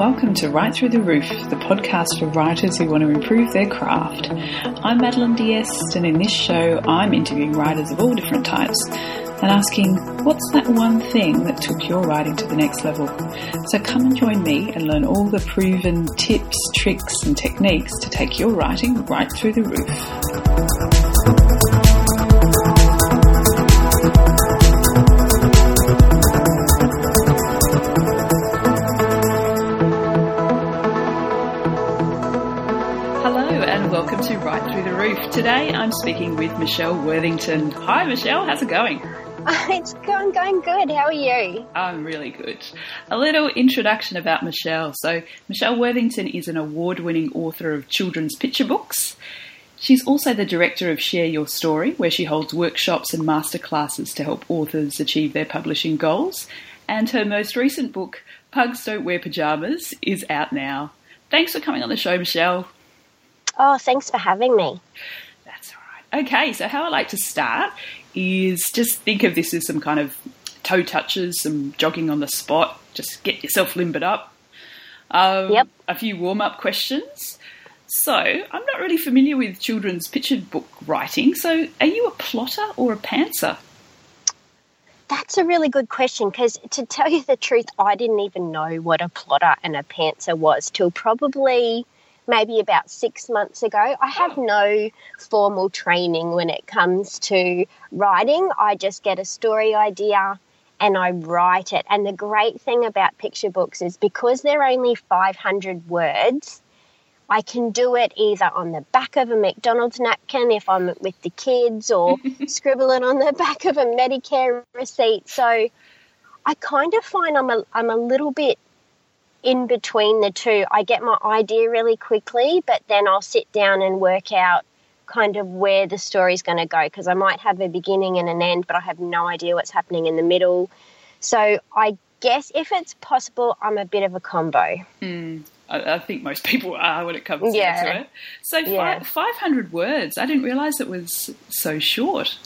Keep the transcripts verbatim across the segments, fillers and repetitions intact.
Welcome to Right Through the Roof, the podcast for writers who want to improve their craft. I'm Madeline Diest, and in this show I'm interviewing writers of all different types and asking, what's that one thing that took your writing to the next level? So come and join me and learn all the proven tips, tricks and techniques to take your writing right through the roof. Welcome to Right Through the Roof. Today I'm speaking with Michelle Worthington. Hi Michelle, how's it going? It's going, going good. How are you? I'm really good. A little introduction about Michelle. So Michelle Worthington is an award-winning author of children's picture books. She's also the director of Share Your Story, where she holds workshops and masterclasses to help authors achieve their publishing goals. And her most recent book, Pugs Don't Wear Pyjamas, is out now. Thanks for coming on the show, Michelle. Oh, thanks for having me. That's all right. Okay, so how I like to start is just think of this as some kind of toe touches, some jogging on the spot, just get yourself limbered up. Um, yep. A few warm-up questions. So I'm not really familiar with children's picture book writing, so are you a plotter or a pantser? That's a really good question because, to tell you the truth, I didn't even know what a plotter and a pantser was till probably maybe about six months ago. I have no formal training when it comes to writing. I just get a story idea and I write it. And the great thing about picture books is because they're only five hundred words, I can do it either on the back of a McDonald's napkin if I'm with the kids or scribble it on the back of a Medicare receipt. So I kind of find I'm a, I'm a little bit in between the two. I get my idea really quickly, but then I'll sit down and work out kind of where the story's going to go because I might have a beginning and an end, but I have no idea what's happening in the middle. So I guess if it's possible, I'm a bit of a combo. Mm, I, I think most people are when it comes to yeah. it. So yeah. five hundred words, I didn't realise it was so short.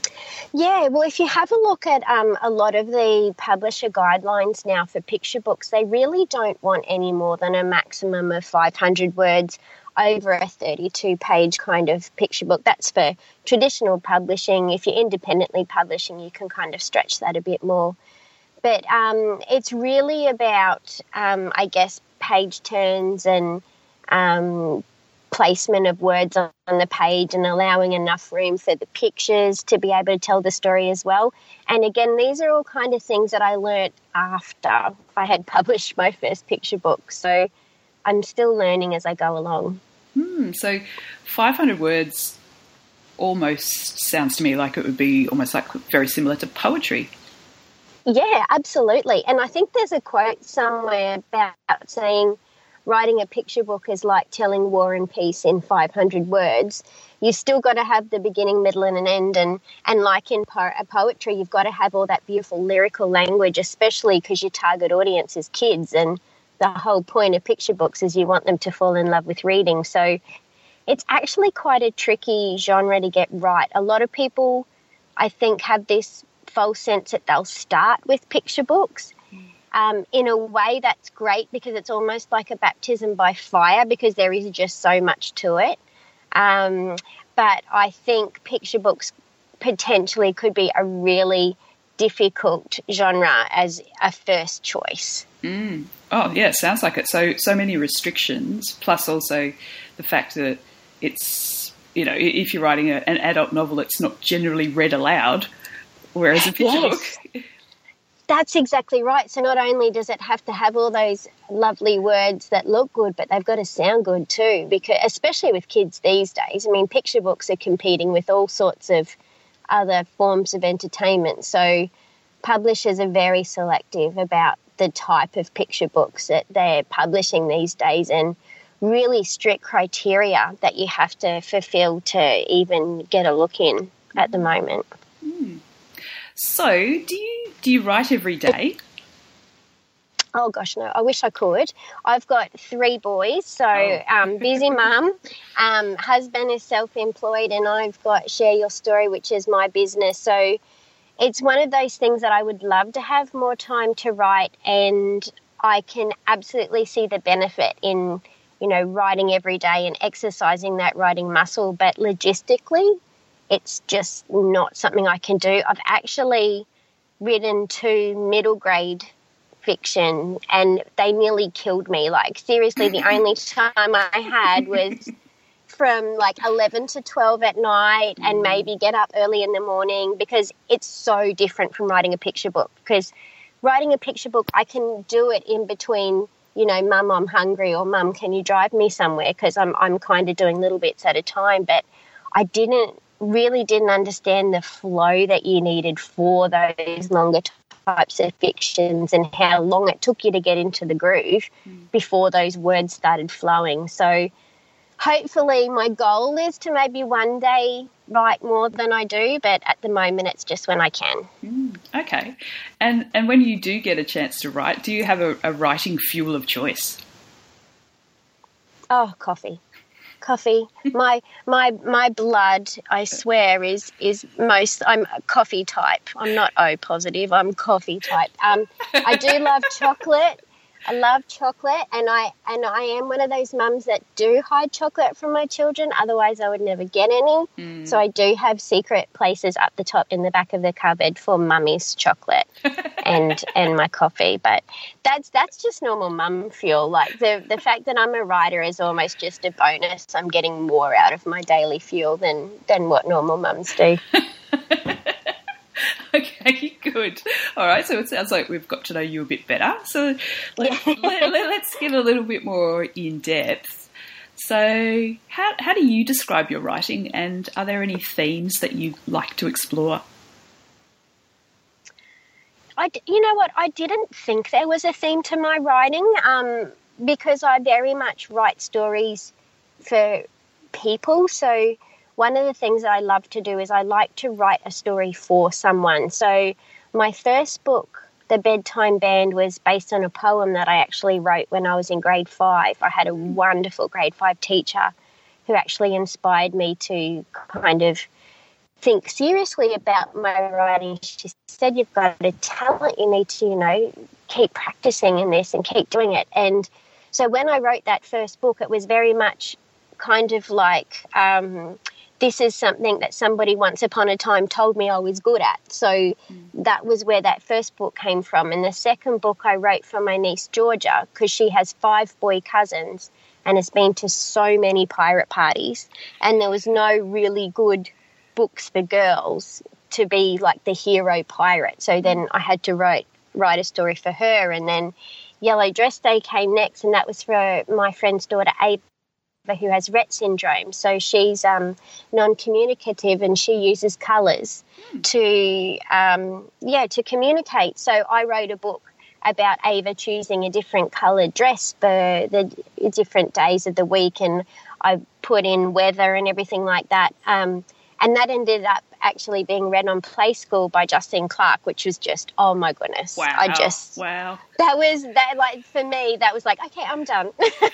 Yeah, well, if you have a look at um, a lot of the publisher guidelines now for picture books, they really don't want any more than a maximum of five hundred words over a thirty-two page kind of picture book. That's for traditional publishing. If you're independently publishing, you can kind of stretch that a bit more. But um, it's really about, um, I guess, page turns and um placement of words on the page and allowing enough room for the pictures to be able to tell the story as well. And again, these are all kind of things that I learnt after I had published my first picture book. So I'm still learning as I go along. Hmm, so five hundred words almost sounds to me like it would be almost like very similar to poetry. Yeah, absolutely. And I think there's a quote somewhere about saying, writing a picture book is like telling War and Peace in five hundred words. You've still got to have the beginning, middle and an end. And, and like in po- poetry, you've got to have all that beautiful lyrical language, especially because your target audience is kids. And the whole point of picture books is you want them to fall in love with reading. So it's actually quite a tricky genre to get right. A lot of people, I think, have this false sense that they'll start with picture books. Um, in a way, that's great because it's almost like a baptism by fire because there is just so much to it. Um, but I think picture books potentially could be a really difficult genre as a first choice. Mm. Oh, yeah, sounds like it. So, so many restrictions, plus also the fact that it's, you know, if you're writing a, an adult novel, it's not generally read aloud, whereas a picture yes. book... That's exactly right. So not only does it have to have all those lovely words that look good, but they've got to sound good too, because especially with kids these days. I mean, picture books are competing with all sorts of other forms of entertainment. So publishers are very selective about the type of picture books that they're publishing these days and really strict criteria that you have to fulfill to even get a look in at the moment. Mm. So, do you do you write every day? Oh, gosh, no, I wish I could. I've got three boys, so oh. um, busy mum. Um, husband is self-employed and I've got Share Your Story, which is my business. So it's one of those things that I would love to have more time to write, and I can absolutely see the benefit in, you know, writing every day and exercising that writing muscle. But logistically, it's just not something I can do. I've actually written two middle grade fiction and they nearly killed me. Like, seriously, the only time I had was from like eleven to twelve at night and maybe get up early in the morning, because it's so different from writing a picture book. Because writing a picture book, I can do it in between, you know, Mum, I'm hungry, or Mum, can you drive me somewhere? Because I'm, I'm kind of doing little bits at a time. But I didn't really didn't understand the flow that you needed for those longer types of fictions and how long it took you to get into the groove mm. before those words started flowing. So hopefully my goal is to maybe one day write more than I do, but at the moment it's just when I can. Mm, okay. And and when you do get a chance to write, do you have a, a writing fuel of choice? Oh, coffee. Coffee. My my my blood, I swear, is is most. I'm a coffee type. I'm not O positive. I'm coffee type. Um, I do love chocolate. I love chocolate, and I and I am one of those mums that do hide chocolate from my children. Otherwise, I would never get any. Mm. So I do have secret places up the top in the back of the cupboard for mummy's chocolate and and my coffee. But that's that's just normal mum fuel. Like the the fact that I'm a writer is almost just a bonus. I'm getting more out of my daily fuel than than what normal mums do. Okay, good. All right, so it sounds like we've got to know you a bit better. So let, let, let, let's get a little bit more in depth. So how how do you describe your writing, and are there any themes that you like to explore? I, you know what, I didn't think there was a theme to my writing um, because I very much write stories for people. So one of the things that I love to do is I like to write a story for someone. So my first book, The Bedtime Band, was based on a poem that I actually wrote when I was in grade five. I had a wonderful grade five teacher who actually inspired me to kind of think seriously about my writing. She said, you've got a talent, you need to, you know, keep practicing in this and keep doing it. And so when I wrote that first book, it was very much kind of like... Um, this is something that somebody once upon a time told me I was good at. So mm. that was where that first book came from. And the second book I wrote for my niece Georgia, because she has five boy cousins and has been to so many pirate parties, and there was no really good books for girls to be like the hero pirate. So then I had to write, write a story for her. And then Yellow Dress Day came next, and that was for my friend's daughter Ava, who has Rett syndrome. So she's um, non-communicative, and she uses colours mm. to, um, yeah, to communicate. So I wrote a book about Ava choosing a different coloured dress for the different days of the week, and I put in weather and everything like that. Um, and that ended up actually being read on Play School by Justine Clark, which was just, oh my goodness. Wow. I just, wow. That was, that like, for me, that was like, okay, I'm done.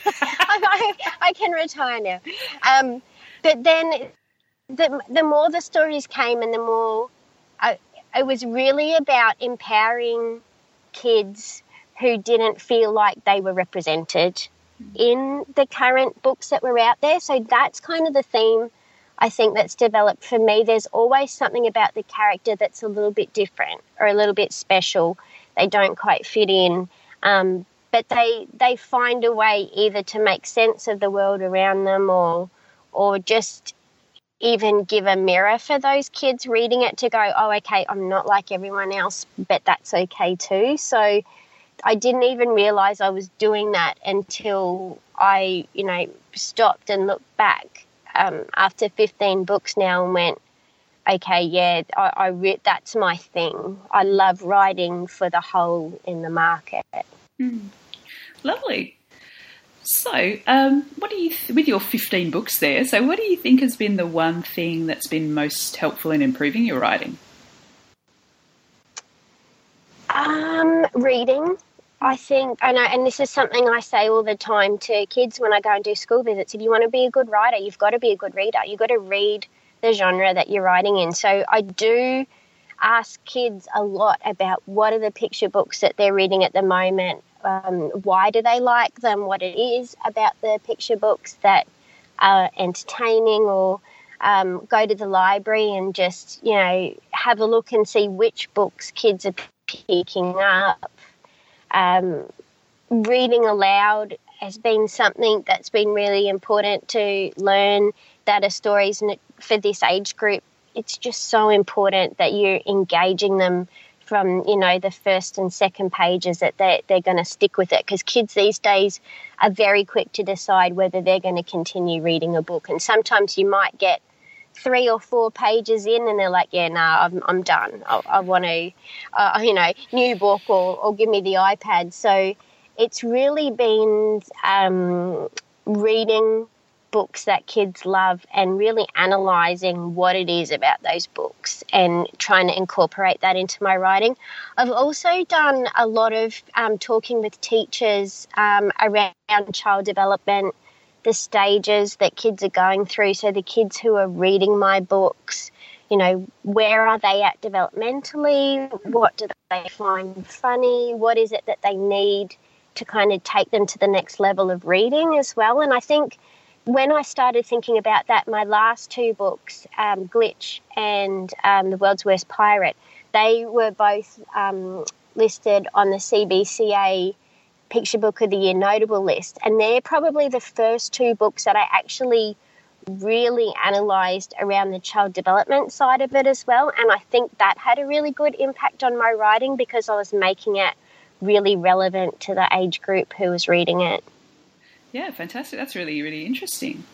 I, I can retire now. Um, but then the, the more the stories came and the more, I, it was really about empowering kids who didn't feel like they were represented mm-hmm. in the current books that were out there. So that's kind of the theme I think that's developed for me. There's always something about the character that's a little bit different or a little bit special. They don't quite fit in, um, but they they find a way either to make sense of the world around them, or or just even give a mirror for those kids reading it to go, oh, okay, I'm not like everyone else, but that's okay too. So I didn't even realise I was doing that until I, you know, stopped and looked back. Um, after fifteen books now, and went, okay, yeah, I, I re- that's my thing. I love writing for the hole in the market. Mm. Lovely. So, um, what do you th- with your fifteen books there? So, what do you think has been the one thing that's been most helpful in improving your writing? Um, reading. I think, and, I, and this is something I say all the time to kids when I go and do school visits. If you want to be a good writer, you've got to be a good reader. You've got to read the genre that you're writing in. So I do ask kids a lot about what are the picture books that they're reading at the moment, um, why do they like them, what it is about the picture books that are entertaining, or um, go to the library and just, you know, have a look and see which books kids are picking up. Um, reading aloud has been something that's been really important to learn, that are stories for this age group. It's just so important that you're engaging them from, you know, the first and second pages, that they're, they're going to stick with it, because kids these days are very quick to decide whether they're going to continue reading a book. And sometimes you might get three or four pages in and they're like, yeah, no, nah, I'm, I'm done. I, I want to, uh, you know, new book, or, or give me the iPad. So it's really been um, reading books that kids love and really analysing what it is about those books and trying to incorporate that into my writing. I've also done a lot of um, talking with teachers um, around child development, the stages that kids are going through. So the kids who are reading my books, you know, where are they at developmentally? What do they find funny? What is it that they need to kind of take them to the next level of reading as well? And I think when I started thinking about that, my last two books, um, Glitch and um, The World's Worst Pirate, they were both um, listed on the C B C A Picture Book of the Year notable list. And they're probably the first two books that I actually really analysed around the child development side of it as well. And I think that had a really good impact on my writing, because I was making it really relevant to the age group who was reading it. Yeah, fantastic. That's really, really interesting.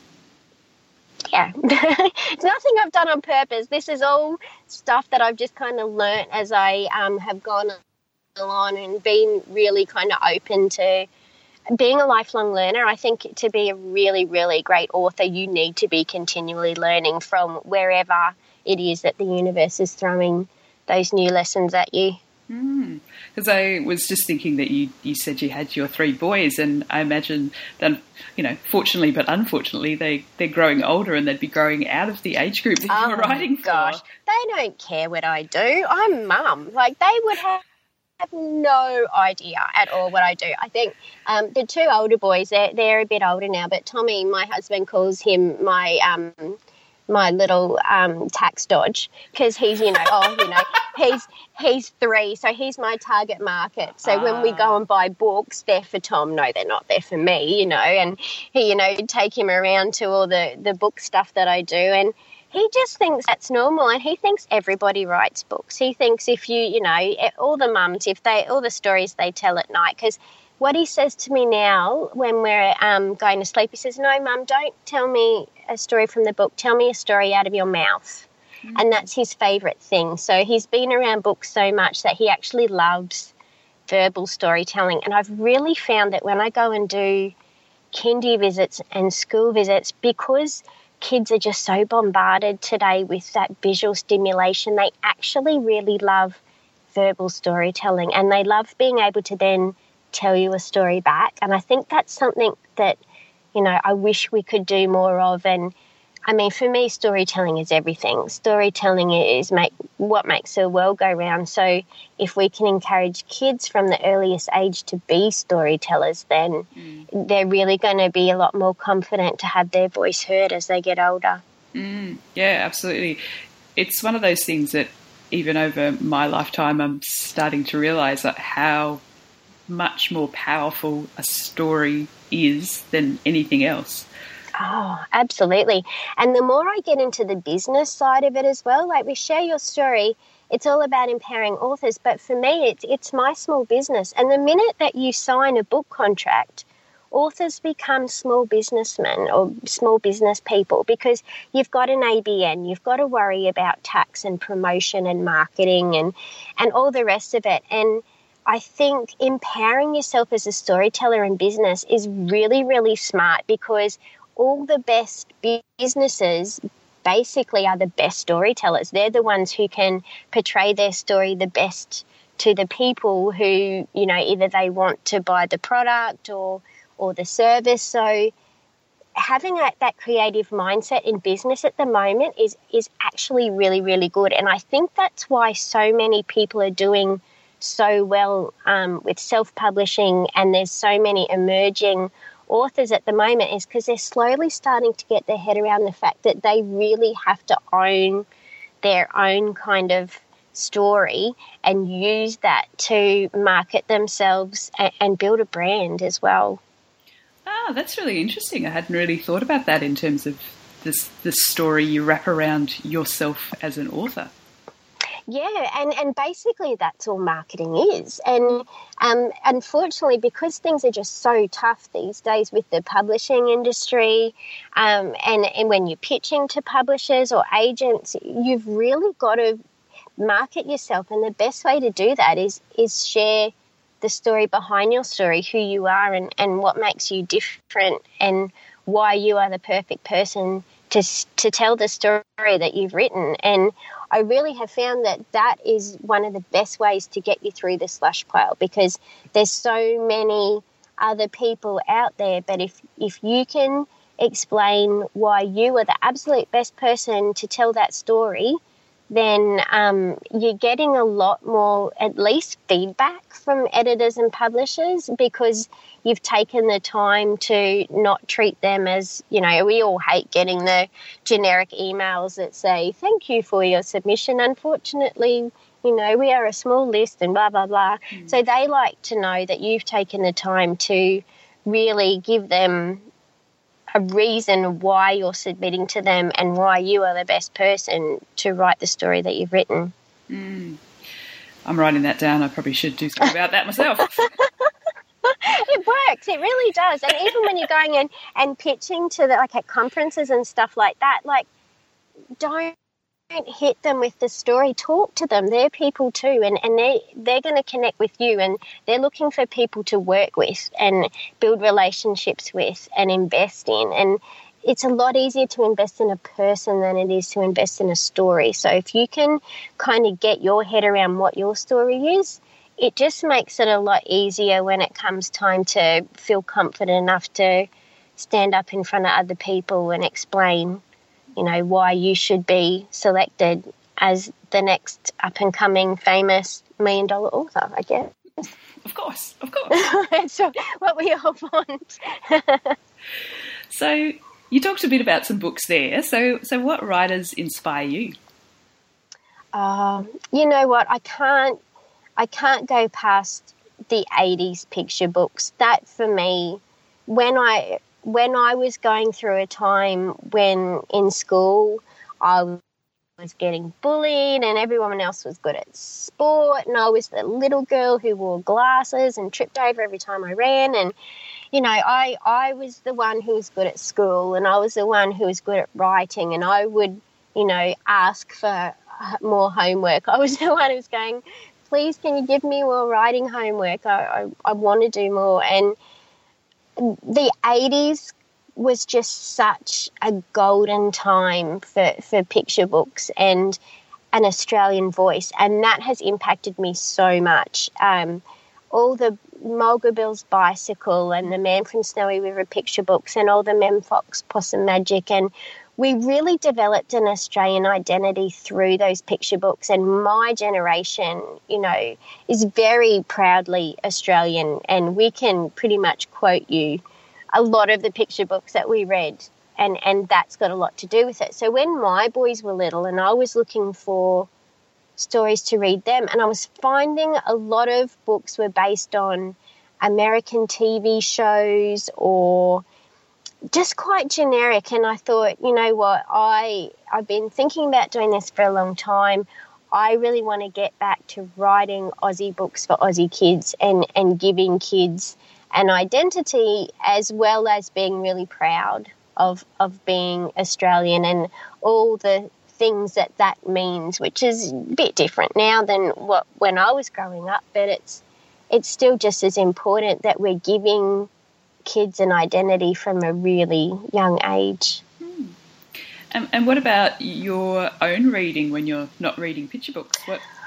Yeah. It's nothing I've done on purpose. This is all stuff that I've just kind of learnt as I um, have gone along and been really kind of open to being a lifelong learner. I think to be a really, really great author, you need to be continually learning from wherever it is that the universe is throwing those new lessons at you. Because mm. I was just thinking that you, you said you had your three boys, and I imagine that, you know, fortunately but unfortunately, they, they're growing older and they'd be growing out of the age group that oh you were writing for. Gosh, they don't care what I do. I'm mum. Like, they would have have no idea at all what I do. I think um, the two older boys, they're, they're a bit older now, but Tommy, my husband, calls him my um, my little um, tax dodge, because he's, you know, oh, you know, he's he's three, so he's my target market. So ah. when we go and buy books, they're for Tom. No, they're not. They're for me, you know, and he, you know, take him around to all the, the book stuff that I do, and he just thinks that's normal, and he thinks everybody writes books. He thinks if you, you know, all the mums, if they, all the stories they tell at night, because what he says to me now when we're um, going to sleep, he says, no, Mum, don't tell me a story from the book. Tell me a story out of your mouth. Mm-hmm. And that's his favourite thing. So he's been around books so much that he actually loves verbal storytelling. And I've really found that when I go and do kindy visits and school visits, because kids are just so bombarded today with that visual stimulation, they actually really love verbal storytelling, and they love being able to then tell you a story back. And I think that's something that, you know, I wish we could do more of. And I mean, for me, storytelling is everything. Storytelling is make what makes the world go round. So if we can encourage kids from the earliest age to be storytellers, then mm. they're really going to be a lot more confident to have their voice heard as they get older. Mm, yeah, absolutely. It's one of those things that even over my lifetime, I'm starting to realise that how much more powerful a story is than anything else. Oh, absolutely. And the more I get into the business side of it as well, like we Share Your Story, it's all about empowering authors. But for me, it's, it's my small business. And the minute that you sign a book contract, authors become small businessmen or small business people, because you've got an A B N, you've got to worry about tax and promotion and marketing and, and all the rest of it. And I think empowering yourself as a storyteller in business is really, really smart, because all the best businesses basically are the best storytellers. They're the ones who can portray their story the best to the people who, you know, either they want to buy the product or or the service. So having a, that creative mindset in business at the moment is is actually really, really good. And I think that's why so many people are doing so well um, with self-publishing, and there's so many emerging authors at the moment, is because they're slowly starting to get their head around the fact that they really have to own their own kind of story and use that to market themselves and, and build a brand as well. Ah, that's really interesting. I hadn't really thought about that in terms of this this story you wrap around yourself as an author. Yeah, and, and basically that's all marketing is. And um, unfortunately, because things are just so tough these days with the publishing industry, um, and, and when you're pitching to publishers or agents, you've really got to market yourself. And the best way to do that is is share the story behind your story, who you are and, and what makes you different and why you are the perfect person to to tell the story that you've written. And I really have found that that is one of the best ways to get you through the slush pile, because there's so many other people out there. But if, if you can explain why you are the absolute best person to tell that story, then um, you're getting a lot more, at least, feedback from editors and publishers, because you've taken the time to not treat them as, you know, we all hate getting the generic emails that say, thank you for your submission. Unfortunately, you know, we are a small list and blah, blah, blah. Mm. So they like to know that you've taken the time to really give them a reason why you're submitting to them and why you are the best person to write the story that you've written. Mm. I'm writing that down. I probably should do something about that myself. It works. It really does. And even when you're going in and pitching to the, like at conferences and stuff like that, like don't hit them with the story. Talk to them. They're people too, and, and they, they're going to connect with you, and they're looking for people to work with and build relationships with and invest in. And it's a lot easier to invest in a person than it is to invest in a story. So if you can kind of get your head around what your story is, it just makes it a lot easier when it comes time to feel confident enough to stand up in front of other people and explain, you know, why you should be selected as the next up-and-coming famous million-dollar author, I guess. Of course, of course. That's what we all want. So you talked a bit about some books there. So, so what writers inspire you? Um, you know what? I can't. I can't go past the eighties picture books. That for me, when I when I was going through a time when in school I was getting bullied and everyone else was good at sport, and I was the little girl who wore glasses and tripped over every time I ran, and you know, I, I was the one who was good at school, and I was the one who was good at writing, and I would, you know, ask for more homework. I was the one who was going, please, can you give me more writing homework? I, I, I want to do more. And the eighties was just such a golden time for, for picture books and an Australian voice, and that has impacted me so much. Um, all the Mulga Bill's Bicycle and the Man from Snowy River picture books and all the Mem Fox Possum Magic, and we really developed an Australian identity through those picture books, and my generation, you know, is very proudly Australian, and we can pretty much quote you a lot of the picture books that we read, and, and that's got a lot to do with it. So when my boys were little and I was looking for stories to read them, and I was finding a lot of books were based on American T V shows or just quite generic, and I thought, you know what, I, I've been thinking about doing this for a long time. I really want to get back to writing Aussie books for Aussie kids and, and giving kids an identity, as well as being really proud of of being Australian and all the things that that means, which is a bit different now than what when I was growing up, but it's it's still just as important that we're giving kids an identity from a really young age. Hmm. And, and what about your own reading when you're not reading picture books? What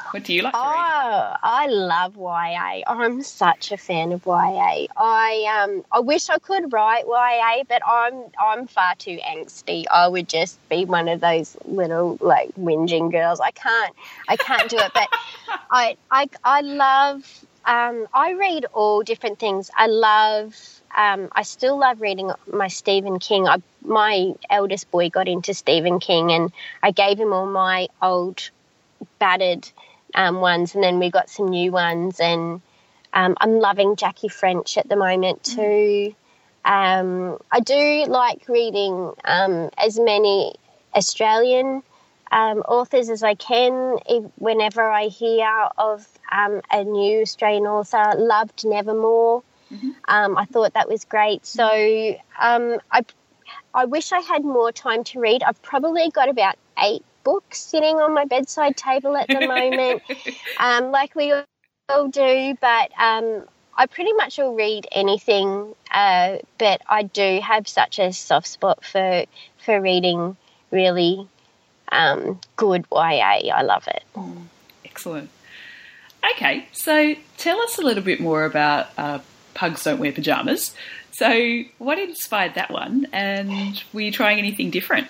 What do you like to read? Oh, I love Y A. I'm such a fan of Y A. I um I wish I could write Y A, but I'm I'm far too angsty. I would just be one of those little like whinging girls. I can't I can't do it. But I I I love um I read all different things. I love um I still love reading my Stephen King. I my eldest boy got into Stephen King, and I gave him all my old battered Um, ones, and then we got some new ones, and um, I'm loving Jackie French at the moment too. Um, I do like reading um, as many Australian um, authors as I can. If, whenever I hear of um, a new Australian author, loved Nevermore. Mm-hmm. Um, I thought that was great. So um, I, I wish I had more time to read. I've probably got about eight books sitting on my bedside table at the moment, um, like we all do, but um, I pretty much will read anything, uh, but I do have such a soft spot for for reading really um, good Y A. I love it. Mm, excellent. Okay, so tell us a little bit more about uh, Pugs Don't Wear Pyjamas. So what inspired that one, and were you trying anything different?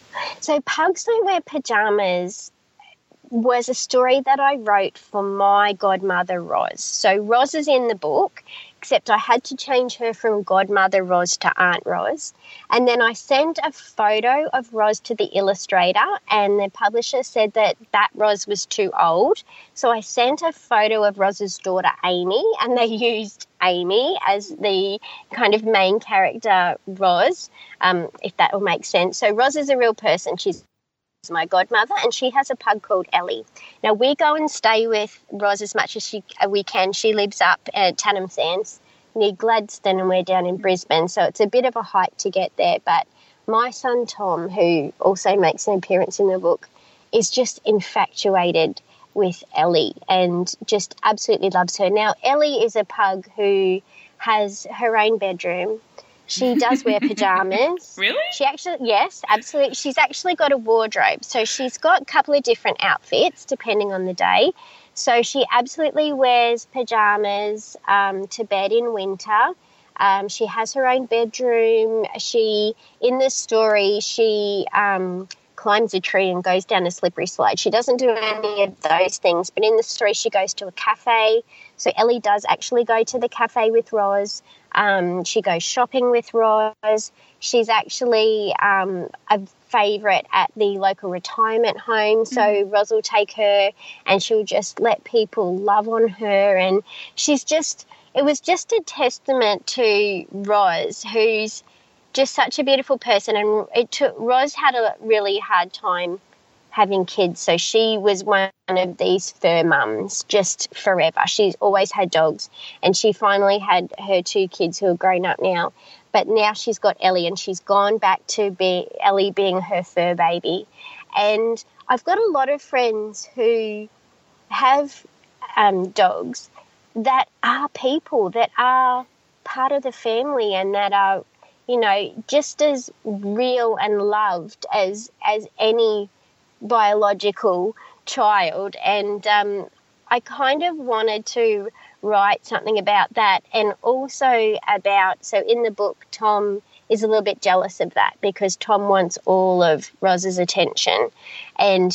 So Pugs Don't Wear Pyjamas was a story that I wrote for my godmother, Roz. So Roz is in the book, except I had to change her from godmother Roz to Aunt Roz. And then I sent a photo of Roz to the illustrator, and the publisher said that that Roz was too old. So I sent a photo of Roz's daughter, Amy, and they used Amy as the kind of main character, Roz, um, if that will make sense. So Roz is a real person. She's my godmother, and she has a pug called Ellie. Now, we go and stay with Roz as much as she, uh, we can. She lives up at Tannum Sands near Gladstone, and we're down in Brisbane, so it's a bit of a hike to get there. But my son Tom, who also makes an appearance in the book, is just infatuated with Ellie and just absolutely loves her. Now, Ellie is a pug who has her own bedroom. She does wear pyjamas. Really? She actually, yes, absolutely. She's actually got a wardrobe. So she's got a couple of different outfits depending on the day. So she absolutely wears pyjamas um, to bed in winter. Um, she has her own bedroom. She, in this story, she um, climbs a tree and goes down a slippery slide. She doesn't do any of those things, but in the story she goes to a cafe. So Ellie does actually go to the cafe with Roz. Um, she goes shopping with Roz. She's actually um, a favourite at the local retirement home. So mm. Roz will take her and she'll just let people love on her. And she's just, it was just a testament to Roz, who's just such a beautiful person. And it took, Roz had a really hard time having kids. So she was one of these fur mums just forever. She's always had dogs, and she finally had her two kids who are grown up now. But now she's got Ellie, and she's gone back to be Ellie being her fur baby. And I've got a lot of friends who have um, dogs that are people, that are part of the family, and that are, you know, just as real and loved as as any biological child. And um, I kind of wanted to write something about that, and also about, so in the book Tom is a little bit jealous of that because Tom wants all of Roz's attention, and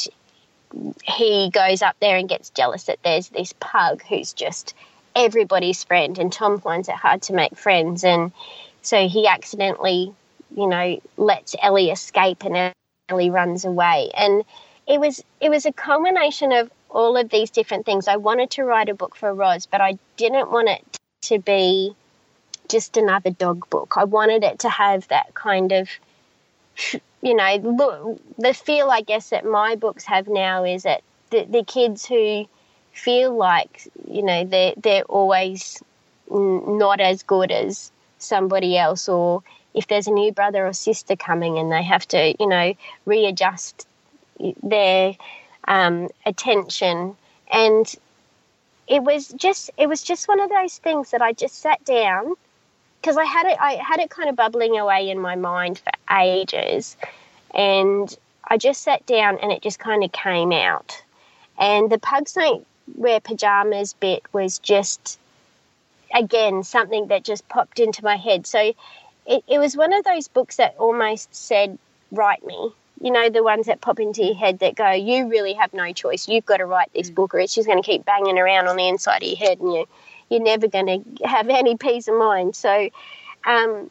he goes up there and gets jealous that there's this pug who's just everybody's friend, and Tom finds it hard to make friends, and so he accidentally, you know, lets Ellie escape, and Ellie runs away. And it was it was a culmination of all of these different things. I wanted to write a book for Roz, but I didn't want it to be just another dog book. I wanted it to have that kind of, you know, look, the feel, I guess, that my books have now is that the, the kids who feel like, you know, they're, they're always not as good as somebody else, or if there's a new brother or sister coming and they have to, you know, readjust their um, attention. And it was just it was just one of those things that I just sat down, because I had it I had it kind of bubbling away in my mind for ages, and I just sat down and it just kind of came out. And the Pugs Don't Wear Pajamas bit was just, again, something that just popped into my head. So it, it was one of those books that almost said, write me. You know, the ones that pop into your head that go, you really have no choice. You've got to write this book or it's just going to keep banging around on the inside of your head and you, you're never going to have any peace of mind. So um,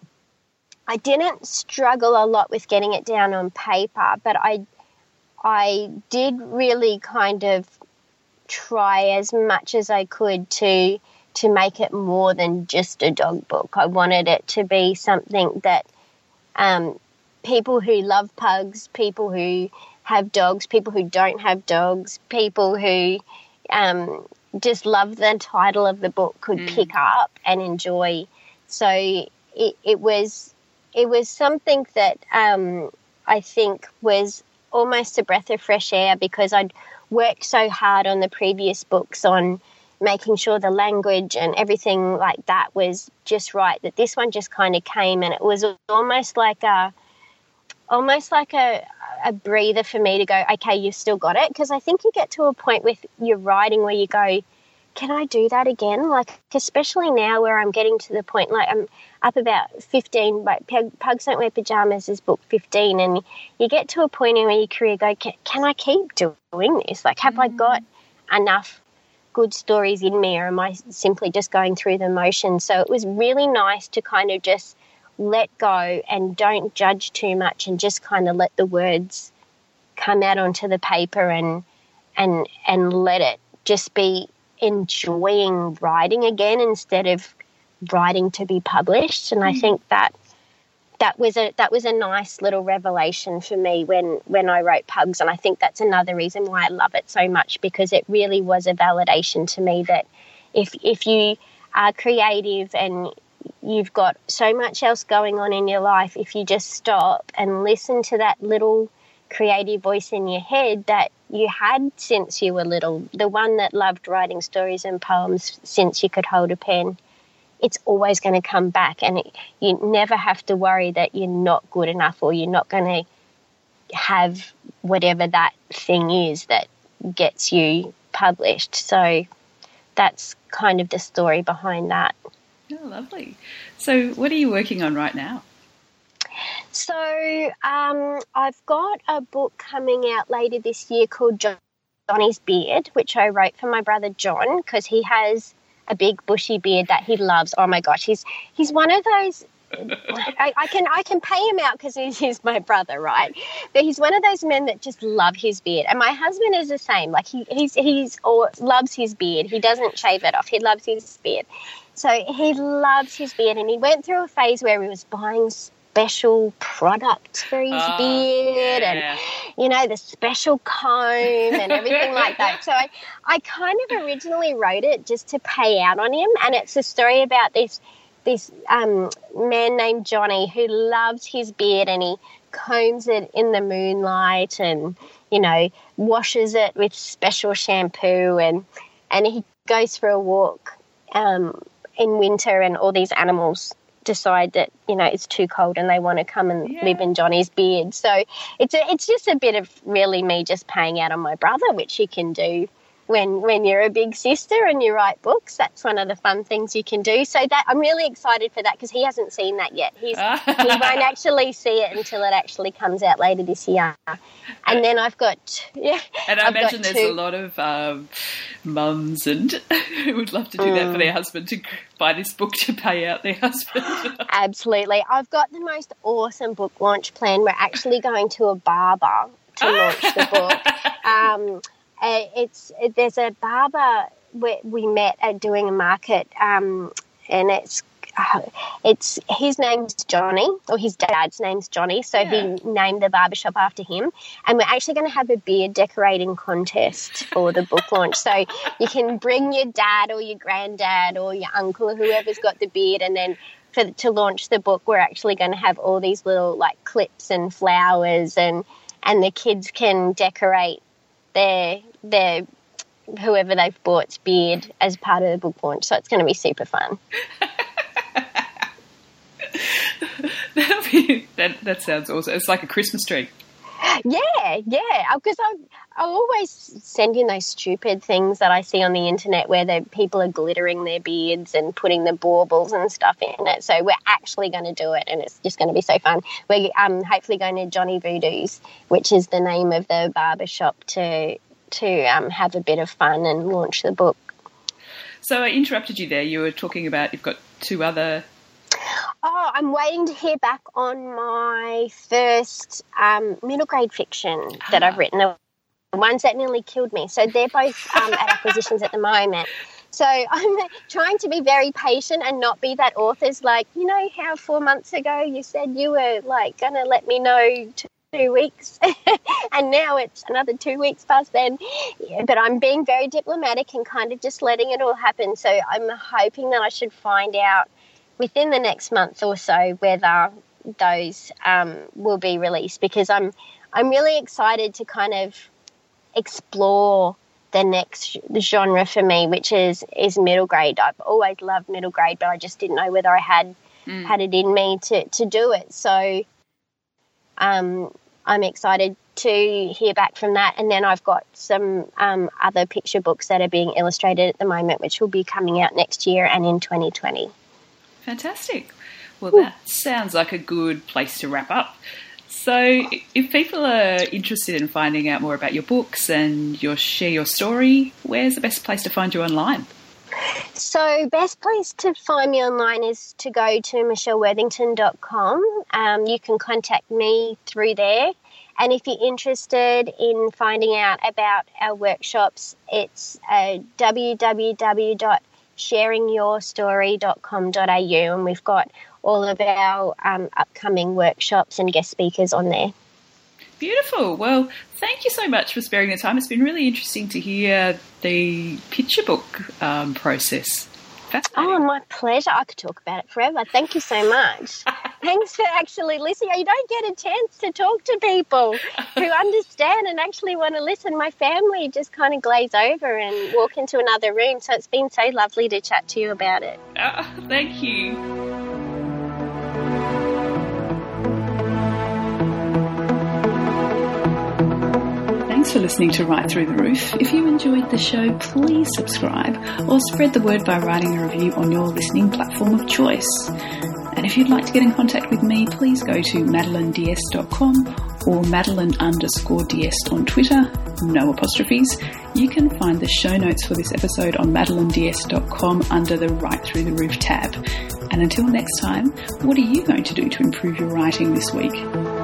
I didn't struggle a lot with getting it down on paper, but I, I did really kind of try as much as I could to to make it more than just a dog book. I wanted it to be something that um, people who love pugs, people who have dogs, people who don't have dogs, people who um, just love the title of the book could mm. pick up and enjoy. So it, it was it was something that um, I think was almost a breath of fresh air, because I'd worked so hard on the previous books on making sure the language and everything like that was just right, that this one just kind of came, and it was almost like a almost like a, a breather for me to go, okay, you've still got it. Because I think you get to a point with your writing where you go, can I do that again? Like, especially now where I'm getting to the point, like I'm up about fifteen, like Pugs Don't Wear Pajamas is book fifteen, and you get to a point in your career go, can, can I keep doing this? Like, have mm. I got enough good stories in me, or am I simply just going through the motions? So it was really nice to kind of just let go and don't judge too much and just kind of let the words come out onto the paper and and and let it just be enjoying writing again instead of writing to be published. And mm. I think that that was a that was a nice little revelation for me when when I wrote Pugs, and I think that's another reason why I love it so much, because it really was a validation to me that if if you are creative and you've got so much else going on in your life, if you just stop and listen to that little creative voice in your head that you had since you were little, the one that loved writing stories and poems since you could hold a pen, it's always going to come back, and it, you never have to worry that you're not good enough or you're not going to have whatever that thing is that gets you published. So that's kind of the story behind that. Oh, lovely. So what are you working on right now? So um, I've got a book coming out later this year called Johnny's Beard, which I wrote for my brother John, because he has a big bushy beard that he loves. Oh my gosh, he's he's one of those. I, I can I can pay him out because he's, he's my brother, right? But he's one of those men that just love his beard, and my husband is the same. Like he he's he's or loves his beard. He doesn't shave it off. He loves his beard, so he loves his beard. And he went through a phase where he was buying special products for his oh, beard yeah. and, you know, the special comb and everything like that. So I, I kind of originally wrote it just to pay out on him, and it's a story about this this um, man named Johnny who loves his beard, and he combs it in the moonlight and, you know, washes it with special shampoo, and, and he goes for a walk um, in winter, and all these animals decide that, you know, it's too cold and they want to come and yeah. live in Johnny's beard. So it's a, it's just a bit of really me just paying out on my brother, which you can do when when you're a big sister and you write books. That's one of the fun things you can do. So that I'm really excited for that, because he hasn't seen that yet. He's, he won't actually see it until it actually comes out later this year. And then I've got yeah. And I I've imagine there's two. a lot of um, mums and who would love to do mm. that for their husband, to buy this book to pay out their husband. Absolutely. I've got the most awesome book launch plan. We're actually going to a barber to launch the book. Um, Uh, it's there's a barber we, we met at doing a market, um, and it's uh, it's his name's Johnny, or his dad's name's Johnny, so yeah. he named the barbershop after him. And we're actually going to have a beard decorating contest for the book launch. So you can bring your dad or your granddad or your uncle or whoever's got the beard, and then for to launch the book, we're actually going to have all these little like clips and flowers, and and the kids can decorate their their whoever they've bought's beard as part of the book launch. So it's going to be super fun. That'll be, that that sounds awesome. It's like a Christmas tree. Yeah, yeah, because I I always send in those stupid things that I see on the internet where the people are glittering their beards and putting the baubles and stuff in it. So we're actually going to do it, and it's just going to be so fun. We're um, hopefully going to Johnny Voodoo's, which is the name of the barber shop, to to um, have a bit of fun and launch the book. So I interrupted you there. You were talking about you've got two other... Oh, I'm waiting to hear back on my first um, middle grade fiction that ah. I've written, the ones that nearly killed me. So they're both um, at acquisitions at the moment. So I'm trying to be very patient and not be that author's like, you know how four months ago you said you were like going to let me know two weeks and now it's another two weeks past then. Yeah, but I'm being very diplomatic and kind of just letting it all happen. So I'm hoping that I should find out within the next month or so whether those um, will be released, because I'm I'm really excited to kind of explore the next genre for me, which is, is middle grade. I've always loved middle grade, but I just didn't know whether I had mm. had it in me to, to do it. So um, I'm excited to hear back from that. And then I've got some um, other picture books that are being illustrated at the moment, which will be coming out next year and in twenty twenty. Fantastic. Well, Ooh. That sounds like a good place to wrap up. So if people are interested in finding out more about your books and your share your story, where's the best place to find you online? So best place to find me online is to go to michelle worthington dot com. Um, you can contact me through there. And if you're interested in finding out about our workshops, it's uh, w w w dot sharing your story dot com dot a u, and we've got all of our um, upcoming workshops and guest speakers on there. Beautiful. Well, thank you so much for sparing the time. It's been really interesting to hear the picture book um, process. Oh, my pleasure. I could talk about it forever. Thank you so much. Thanks for actually listening. You don't get a chance to talk to people who understand and actually want to listen. My family just kind of glaze over and walk into another room. So it's been so lovely to chat to you about it. Oh, thank you. Thanks for listening to Right Through the Roof. If you enjoyed the show, please subscribe or spread the word by writing a review on your listening platform of choice. And if you'd like to get in contact with me, please go to madeline d s dot com or madeline underscore ds on Twitter, no apostrophes. You can find the show notes for this episode on madeline d s dot com under the Right Through the Roof tab. And until next time, what are you going to do to improve your writing this week?